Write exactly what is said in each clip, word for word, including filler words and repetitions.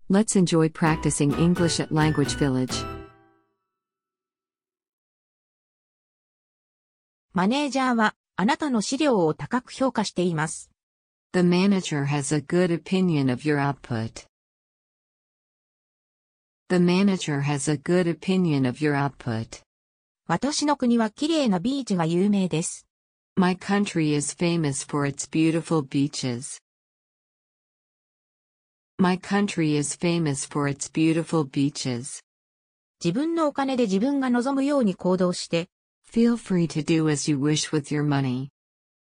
Let's enjoy practicing English at Language Village. マネージャーはあなたの資料を高く評価しています。 The manager has a good opinion of your output. The manager has a good opinion of your output. 私の国は綺麗なビーチが有名です。 My country is famous for its beautiful beaches. My country is famous for its beautiful beaches. 自分のお金で自分が望むように行動して、 Feel free to do as you wish with your money.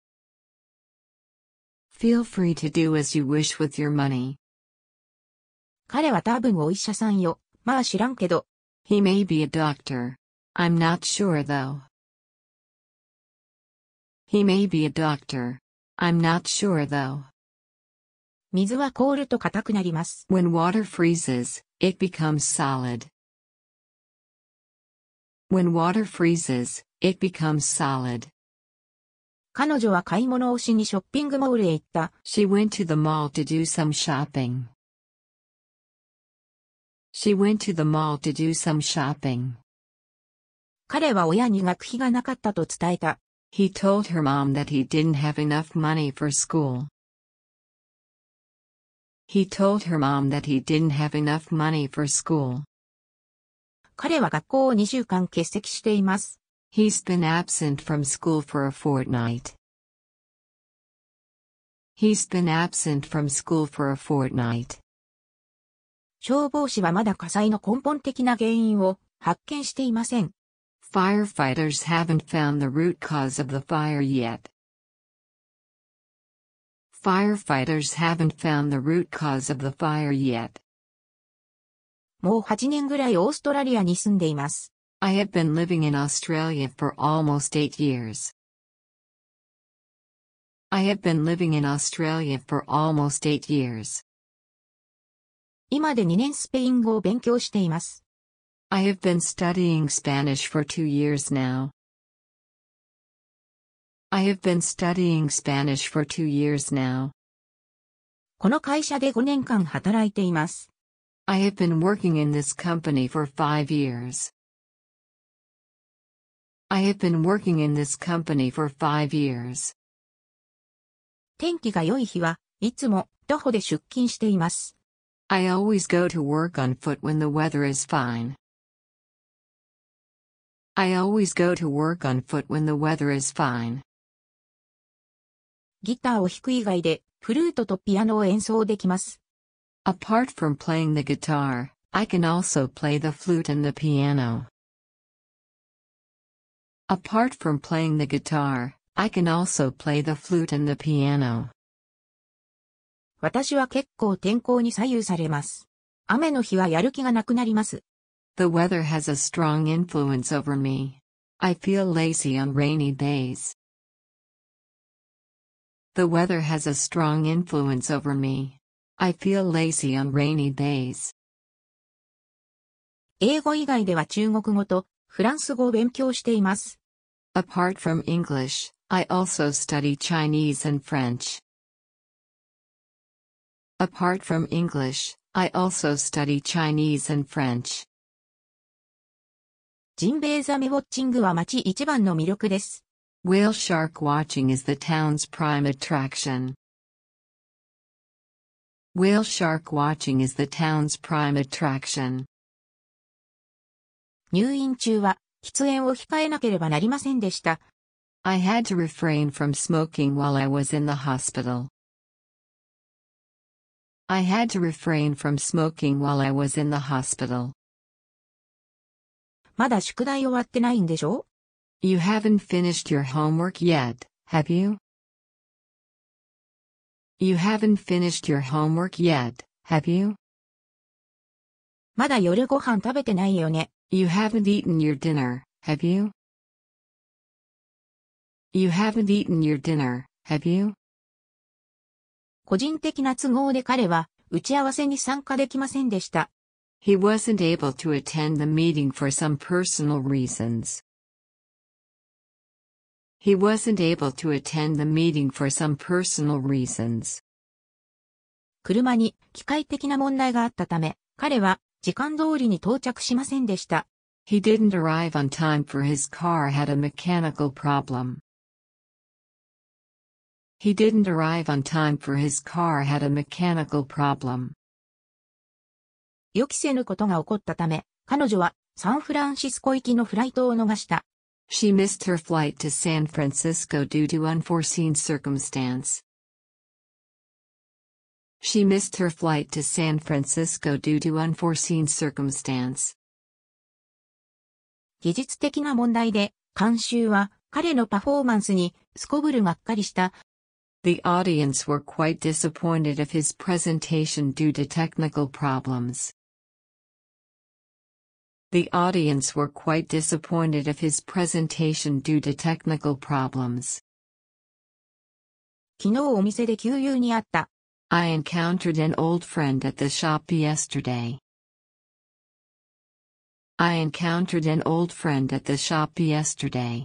Feel free to do as you wish with your money. 彼は多分お医者さんよ。まあ知らんけど。 He may be a doctor. I'm not sure though. He may be a doctor. I'm not sure though. 水は凍ると硬くなります。 When water freezes, it becomes solid. When water freezes, it becomes solid. 彼女は買い物をしにショッピングモールへ行った。 She went to the mall to do some shopping. She went to the mall to do some shopping. 彼は親に学費がなかったと伝えた。 He told her mom that he didn't have enough money for school. He told her mom that he didn't have enough money for school. 彼は学校をにしゅうかん欠席しています。 He's been absent from school for a fortnight. He's been absent from school for a fortnight. 消防士はまだ火災の根本的な原因を発見していません。 Firefighters haven't found the root cause of the fire yet. Firefighters haven't found the root cause of the fire yet. もうはちねんぐらいオーストラリアに住んでいます。 I have been living in Australia for almost eight years. I have been living in Australia for almost eight years. 今でにねんスペイン語を勉強しています。 I have been studying Spanish for two years now. I have been studying Spanish for two years now. この会社でごねんかん働いています。 I have been working in this company for five years. I have been working in this company for five years. 天気が良い日はいつも徒歩で出勤しています。 I always go to work on foot when the weather is fine. I always go to work on foot when the weather is fine. ギターを弾く以外でフルートとピアノを演奏できます。 Apart from playing the guitar, I can also play the flute and the piano. Apart from playing the guitar, I can also play the flute and the piano. 私は結構天候に左右されます。雨の日はやる気がなくなります。 The weather has a strong influence over me. I feel lazy on rainy days. The weather has a strong influence over me. I feel lazy on rainy days. 英語以外では中国語とフランス語を勉強しています。 Apart from English, I also study Chinese and French. Apart from English, I also study Chinese and French. ジンベエザメウォッチングは街一番の魅力です。 Whale shark watching is the town's prime attraction. Whale shark watching is the town's prime attraction. 入院中は喫煙を控えなければなりませんでした。 I had to refrain from smoking while I was in the hospital. I had to refrain from smoking while I was in the hospital. まだ宿題終わってないんでしょ? You haven't finished your homework yet, have you? You haven't finished your homework yet, have you? まだ夜ご飯食べてないよね。 You haven't eaten your dinner, have you? You haven't eaten your dinner, have you? 個人的な都合で彼は打ち合わせに参加できませんでした。 He wasn't able to attend the meeting for some personal reasons. He wasn't able to attend the meeting for some personal reasons. 車に機械的な問題があったため、彼は時間通りに到着しませんでした。 He didn't arrive on time for his car had a mechanical problem. He didn't arrive on time for his car had a mechanical problem. 予期せぬことが起こったため、彼女はサンフランシスコ行きのフライトを逃した。 She missed her flight to San Francisco due to unforeseen circumstance. She missed her flight to San Francisco due to unforeseen circumstance. 技術的な問題で、観衆は彼のパフォーマンスにすこぶるがっかりした。 The audience were quite disappointed of his presentation due to technical problems. The audience were quite disappointed of his presentation due to technical problems. 昨日お店で旧友に会った。 I encountered an old friend at the shop yesterday. I encountered an old friend at the shop yesterday.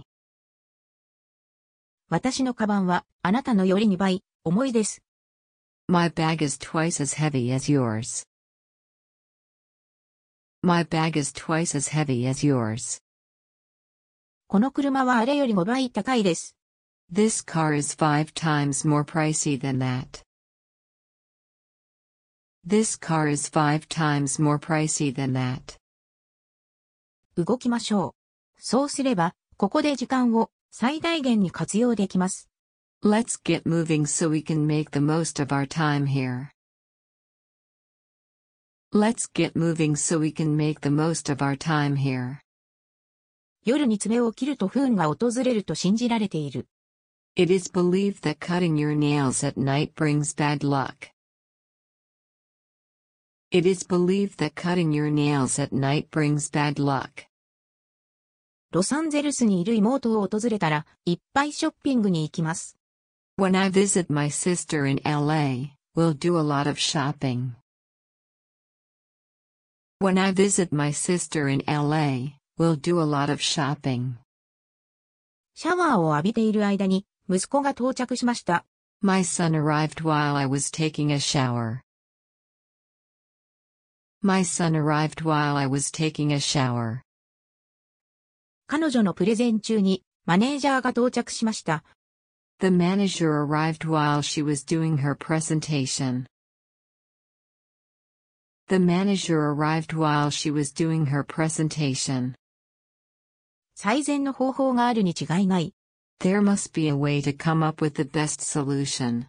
私のカバンはあなたのよりにばい重いです。 My bag is twice as heavy as yours. My bag is twice as heavy as yours. この車はあれよりごばい高いです。 This car is five times more pricey than that. This car is five times more pricey than that. 動きましょう。そうすれば、ここで時間を最大限に活用できます。 Let's get moving so we can make the most of our time here. Let's get moving so we can make the most of our time here. 夜に爪を切ると不運が訪れると信じられている。 It is believed that cutting your nails at night brings bad luck. It is believed that cutting your nails at night brings bad luck. ロサンゼルスにいる妹を訪れたら、いっぱいショッピングに行きます。 When I visit my sister in L A, we'll do a lot of shopping. When I visit my sister in L A, we'll do a lot of shopping. シャワーを浴びている間に、息子が到着しました。 My son arrived while I was taking a shower. My son arrived while I was taking a shower. 彼女のプレゼン中にマネージャーが到着しました。 The manager arrived while she was doing her presentation. The manager arrived while she was doing her presentation. 最善の方法があるに違いない。 There must be a way to come up with the best solution.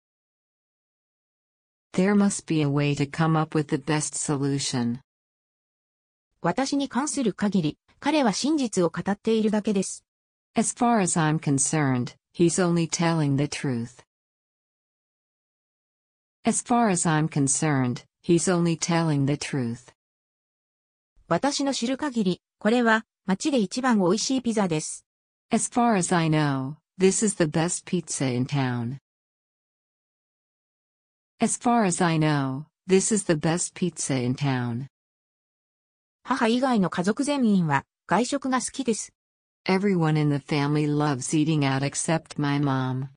There must be a way to come up with the best solution. 私に関する限り、彼は真実を語っているだけです。 As far as I'm concerned, he's only telling the truth. As far as I'm concerned, he's only telling the truth. 私の知る限り、これは街で一番美味しいピザです。 As far as I know, this is the best pizza in town. As far as I know, this is the best pizza in town. 母以外の家族全員は外食が好きです。 Everyone in the family loves eating out except my mom.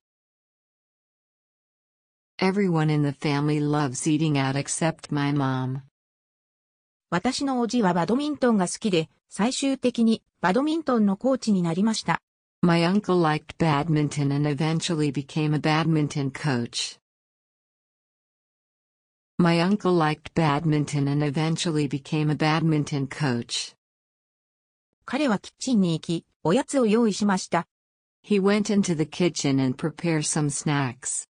Everyone in the family loves eating out except my mom. 私のおじはバドミントンが好きで、最終的にバドミントンのコーチになりました。 My uncle liked badminton and eventually became a badminton coach. My uncle liked badminton and eventually became a badminton coach. 彼はキッチンに行き、おやつを用意しました。 He went into the kitchen and prepared some snacks.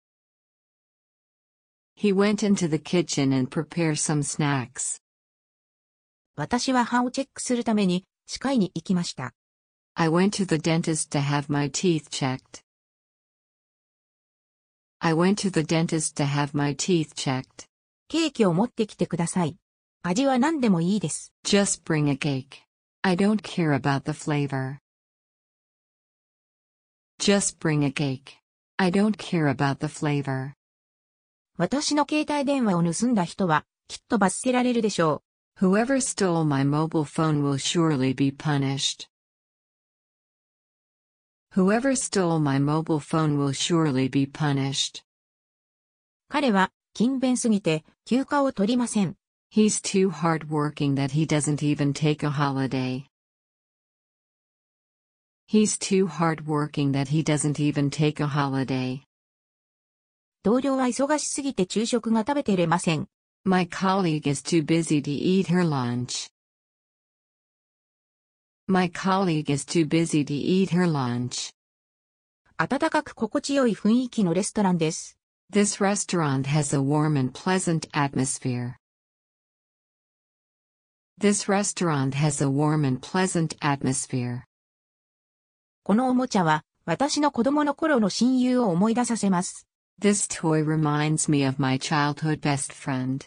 He went into the kitchen and prepared some snacks. 私は歯をチェックするために歯科医に行きました。 I went to the dentist to have my teeth checked. I went to the dentist to have my teeth checked. ケーキを持ってきてください。味は何でもいいです。 Just bring a cake. I don't care about the flavor. Just bring a cake. I don't care about the flavor. 私の携帯電話を盗んだ人はきっと罰せられるでしょう。Whoever stole my mobile phone will surely be punished. Whoever stole my mobile phone will surely be punished. 彼は勤勉すぎて休暇を取りません。 He's too hardworking that he doesn't even take a holiday. He's too hardworking that he doesn't even take a holiday. 同僚は忙しすぎて昼食が食べてれません。 My colleague is too busy to eat her lunch. My colleague is too busy to eat her lunch. 暖かく心地よい雰囲気のレストランです。 This restaurant has a warm and pleasant atmosphere. This restaurant has a warm and pleasant atmosphere. このおもちゃは私の子供の頃の親友を思い出させます。 This toy reminds me of my childhood best friend.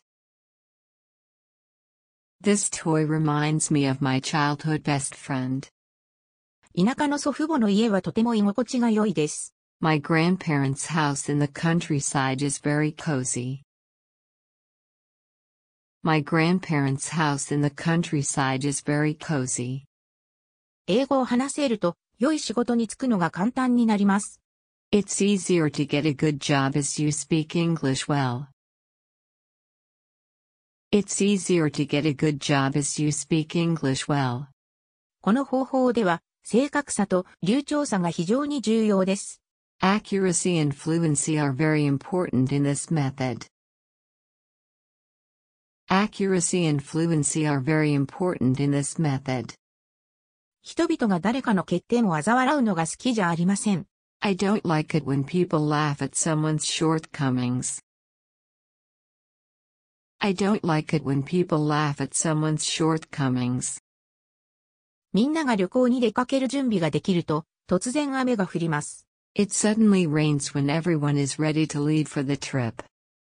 This toy reminds me of my childhood best friend. 田舎の祖父母の家はとても居心地が良いです。 My grandparents' house in the countryside is very cozy. My grandparents' house in the countryside is very cozy. 英語を話せると良い仕事に就くのが簡単になります。 It's easier to get a good job as you speak English well. It's easier to get a good job as you speak English well. この方法では正確さと流暢さが非常に重要です。 Accuracy and fluency are very important in this method. Accuracy and fluency are very important in this method. 人々が誰かの欠点を嘲笑うのが好きじゃありません。 I don't like it when people laugh at someone's shortcomings. I don't like it when people laugh at someone's shortcomings. みんなが旅行に出かける準備ができると、突然雨が降ります。 It suddenly rains when everyone is ready to leave for the trip.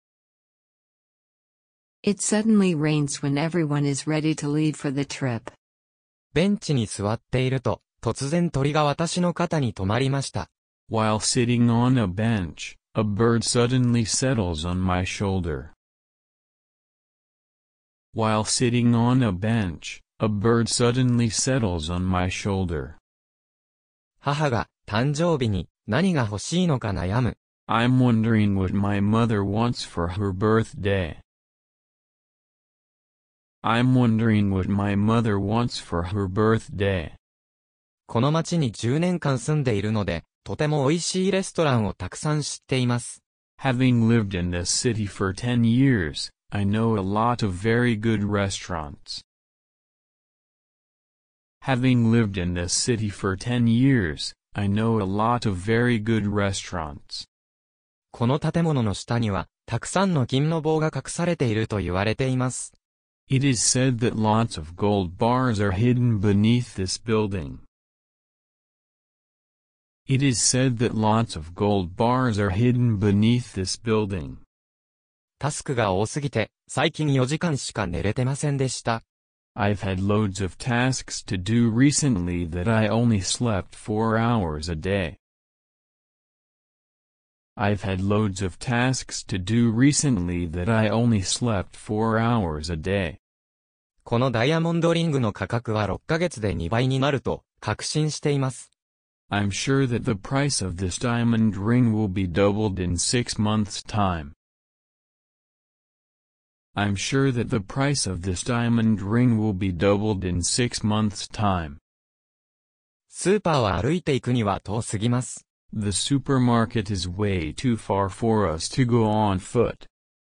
It suddenly rains when everyone is ready to leave for the trip. ベンチに座っていると、突然鳥が私の肩に止まりました。 While sitting on a bench, a bird suddenly settles on my shoulder. While sitting on a bench, a bird suddenly settles on my shoulder. 母が誕生日に何が欲しいのか悩む。 I'm wondering what my mother wants for her birthday. I'm wondering what my mother wants for her birthday. この町にじゅうねんかん住んでいるので、とても美味しいレストランをたくさん知っています。 Having lived in this city for ten years, I know a lot of very good restaurants. Having lived in this city for ten years, I know a lot of very good restaurants. この建物の下には、たくさんの金の棒が隠されていると言われています。 It is said that lots of gold bars are hidden beneath this building. It is said that lots of gold bars are hidden beneath this building. タスクが多すぎて、最近よじかんしか寝れてませんでした。 I've had loads of tasks to do recently that I only slept four hours a day. I've had loads of tasks to do recently that I only slept four hours a day. このダイヤモンドリングの価格はろっかげつでにばいになると確信しています。 I'm sure that the price of this diamond ring will be doubled in six months' time. I'm sure that the price of this diamond ring will be doubled in six months' time. スーパーは歩いていくには遠すぎます。 The supermarket is way too far for us to go on foot.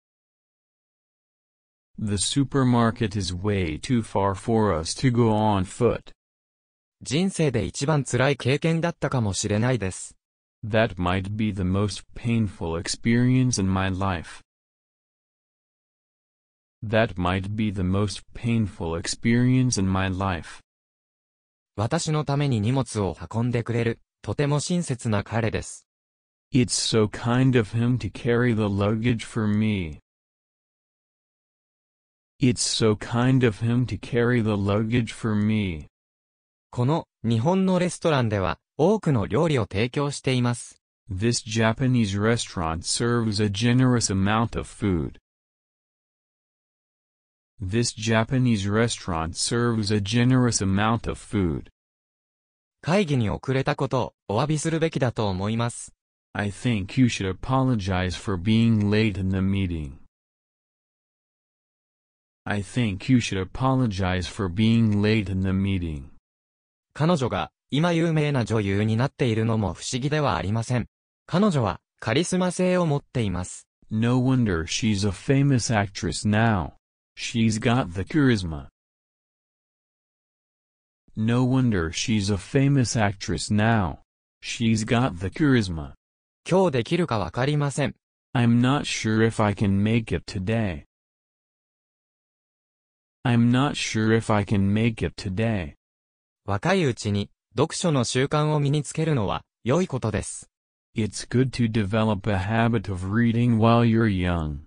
The supermarket is way too far for us to go on foot. 人生で一番辛い経験だったかもしれないです。 That might be the most painful experience in my life. That might be the most painful experience in my life. 私のために荷物を運んでくれる、とても親切な彼です。 It's so kind of him to carry the luggage for me. It's so kind of him to carry the luggage for me. この日本のレストランでは多くの料理を提供しています。 This Japanese restaurant serves a generous amount of food. This Japanese restaurant serves a generous amount of food. 会議に遅れたことをお詫びするべきだと思います。 I think you should apologize for being late in the meeting. I think you should apologize for being late in the meeting. 彼女が今有名な女優になっているのも不思議ではありません。彼女はカリスマ性を持っています。 No wonder she's a famous actress now. She's got the charisma. No wonder she's a famous actress now. She's got the charisma. 今日できるかわかりません。 I'm not sure if I can make it today. I'm not sure if I can make it today. 若いうちに読書の習慣を身につけるのは良いことです。 It's good to develop a habit of reading while you're young.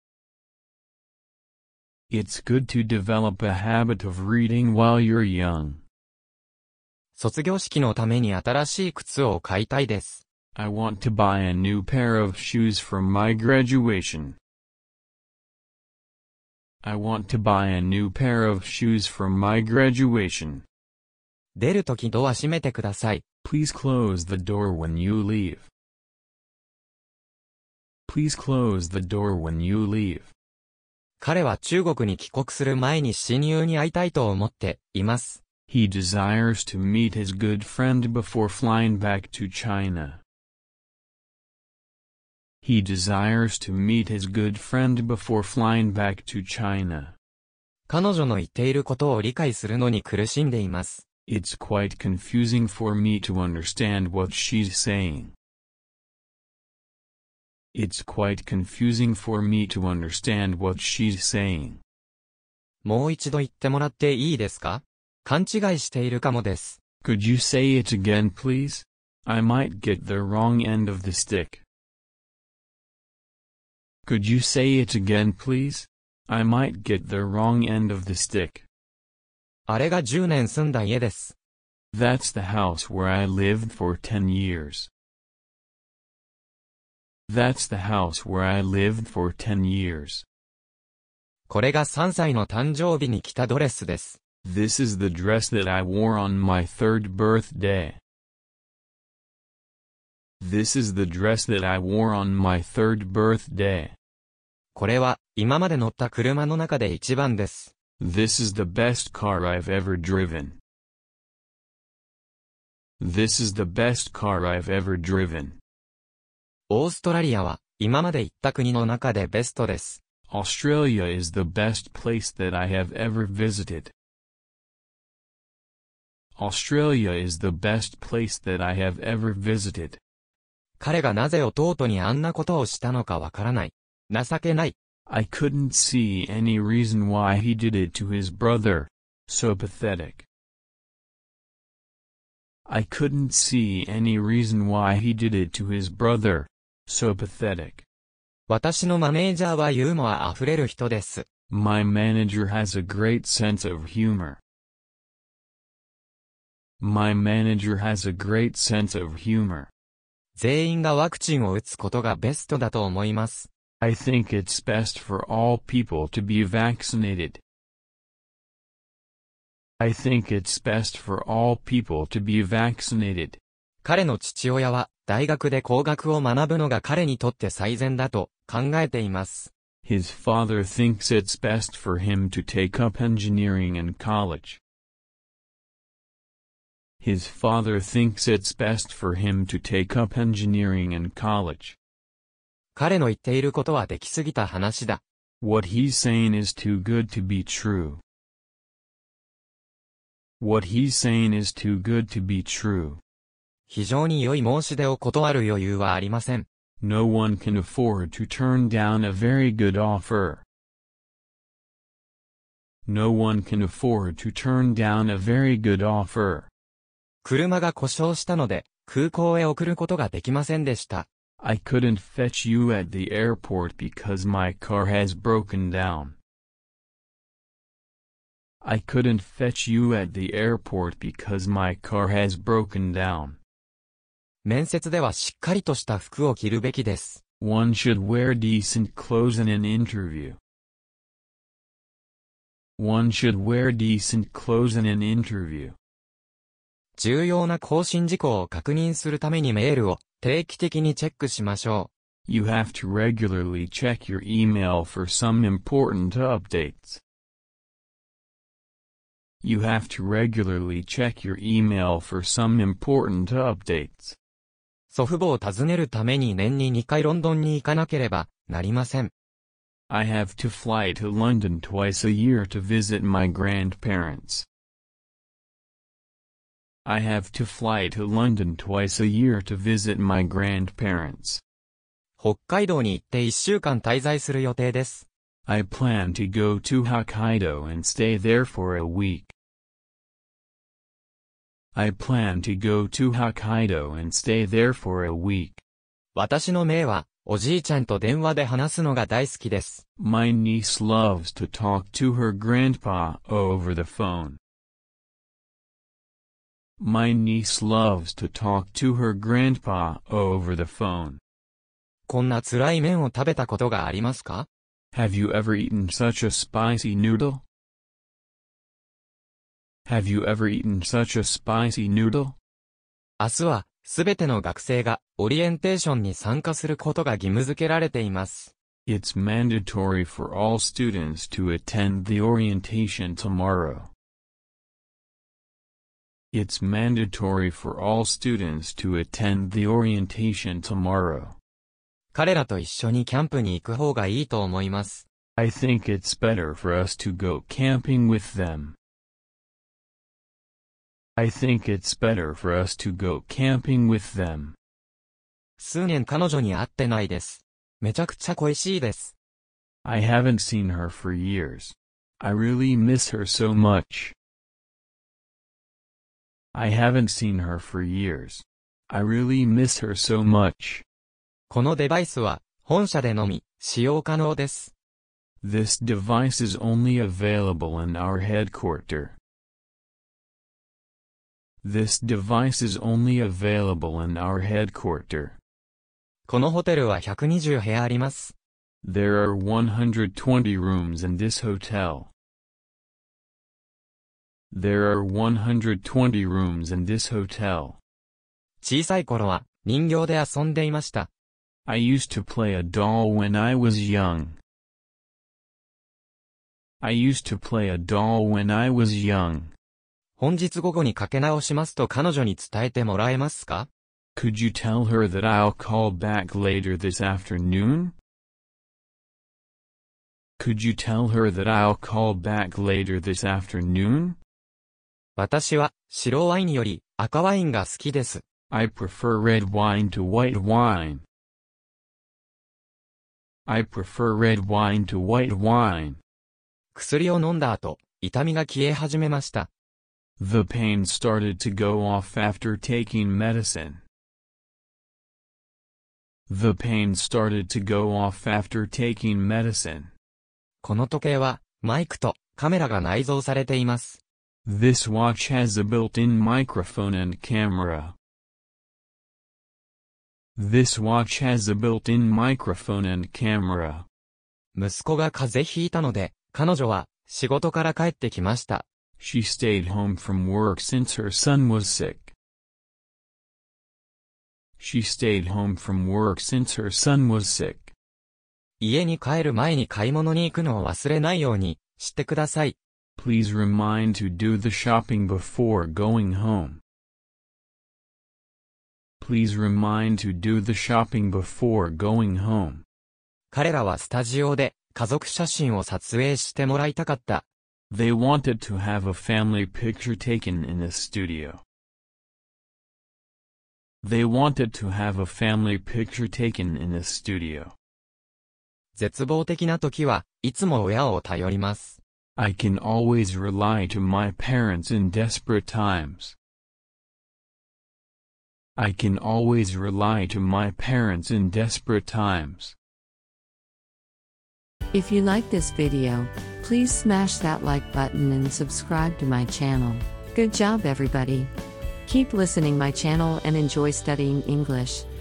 It's good to develop a habit of reading while you're young. 卒業式のために新しい靴を買いたいです。 I want to buy a new pair of shoes for my graduation. I want to buy a new pair of shoes for my graduation. 出るときドア閉めてください。 Please close the door when you leave. Please close the door when you leave. 彼は中国に帰国する前に親友に会いたいと思っています。 He desires to meet his good friend before flying back to China. He desires to meet his good friend before flying back to China. 彼女の言っていることを理解するのに苦しんでいます。 It's quite confusing for me to understand what she's saying. It's quite confusing for me to understand what she's saying. もう一度言ってもらっていいですか？勘違いしているかもです。 Could you say it again, please? I might get the wrong end of the stick. Could you say it again, please? I might get the wrong end of the stick. あれがじゅうねん住んだ家です。 That's the house where I lived for ten years. That's the house where I lived for ten years. これがさんさいの誕生日に着たドレスです。 This is the dress that I wore on my third birthday. This is the dress that I wore on my third birthday. これは今まで乗った車の中で一番です。 This is the best car I've ever driven. This is the best car I've ever driven. オーストラリアは今まで行った国の中でベストです。 Australia is the best place that I have ever visited. Australia is the best place that I have ever visited. 彼がなぜ弟にあんなことをしたのかわからない。情けない。 I couldn't see any reason why he did it to his brother. So pathetic. I couldn't see any reason why he did it to his brother. So pathetic. 私のマネージャーはユーモアあふれる人です。 My manager has a great sense of humor. My manager has a great sense of humor. 全員がワクチンを打つことがベストだと思います。 I think it's best for all people to be vaccinated. I think it's best for all people to be vaccinated. 彼の父親は大学で工学を学ぶのが彼にとって最善だと考えています。 His father thinks it's best for him to take up engineering in college. His father thinks it's best for him to take up engineering in college. 彼の言っていることはできすぎた話だ。 What he's saying is too good to be true. What he's saying is too good to be true. 非常に良い申し出を断る余裕はありません。 No one can afford to turn down a very good offer. No one can afford to turn down a very good offer. 車が故障したので、空港へ送ることができませんでした。 I couldn't fetch you at the airport because my car has broken down. I couldn't fetch you at the airport because my car has broken down. 面接ではしっかりとした服を着るべきです。 One should wear decent clothes in an interview. One should wear decent clothes in an interview. 重要な更新事項を確認するためにメールを定期的にチェックしましょ You have to regularly check your email for some important updates. You have to regularly check your email for some important updates. う。祖父母を訪ねるために年ににかいロンドンに行かなければなりません。 I have to fly to London twice a year to visit my grandparents. I have to fly to London twice a year to visit my grandparents. 北海道に行っていっしゅうかん滞在する予定です。 I plan to go to Hokkaido and stay there for a week. I plan to go to Hokkaido and stay there for a week. 私の姪は、おじいちゃんと電話で話すのが大好きです。 My niece loves to talk to her grandpa over the phone. My niece loves to talk to her grandpa over the phone. こんな辛い麺を食べたことがありますか？ Have you ever eaten such a spicy noodle? Have you ever eaten such a spicy noodle? 明日は、すべての学生が、オリエンテーションに参加することが義務付けられています。 It's mandatory for all students to attend the orientation tomorrow. It's mandatory for all students to attend the orientation tomorrow. 彼らと一緒にキャンプに行く方がいいと思います。 I think it's better for us to go camping with them. I think it's better for us to go camping with them. 数年彼女に会ってないです。めちゃくちゃ恋しいです。 I haven't seen her for years. I really miss her so much. I haven't seen her for years. I really miss her so much. このデバイスは、本社でのみ、使用可能です。 This device is only available in our headquarters. This device is only available in our headquarters. このホテルはひゃくにじゅう部屋あります。 There are one hundred twenty rooms in this hotel. There are one hundred twenty rooms in this hotel. 小さい頃は、人形で遊んでいました。 I used to play a doll when I was young. I used to play a doll when I was young. 本日午後にかけ直しますと彼女に伝えてもらえますか？ Could you tell her that I'll call back later this afternoon? Could you tell her that I'll call back later this afternoon? 私は白ワインより赤ワインが好きです。 I prefer red wine to white wine. I prefer red wine to white wine. 薬を飲んだ後、痛みが消え始めました。 The pain started to go off after taking medicine. The pain started to go off after taking medicine. この時計は、マイクとカメラが内蔵されています。 This watch has a built-in microphone and camera. This watch has a built-in microphone and camera. 息子が風邪ひいたので、彼女は仕事から帰ってきました。 She stayed home from work since her son was sick. She stayed home from work since her son was sick. 家に帰る前に買い物に行くのを忘れないようにしてください。 Please remind to do the shopping before going home. Please remind to do the shopping before going home. 彼らはスタジオで家族写真を撮影してもらいたかった。 They wanted to have a family picture taken in the studio. They wanted to have a family picture taken in the studio. 絶望的な時はいつも親を頼ります。 I can always rely to my parents in desperate times. I can always rely to my parents in desperate times. If you like this video, please smash that like button and subscribe to my channel. Good job everybody. Keep listening my channel and enjoy studying English.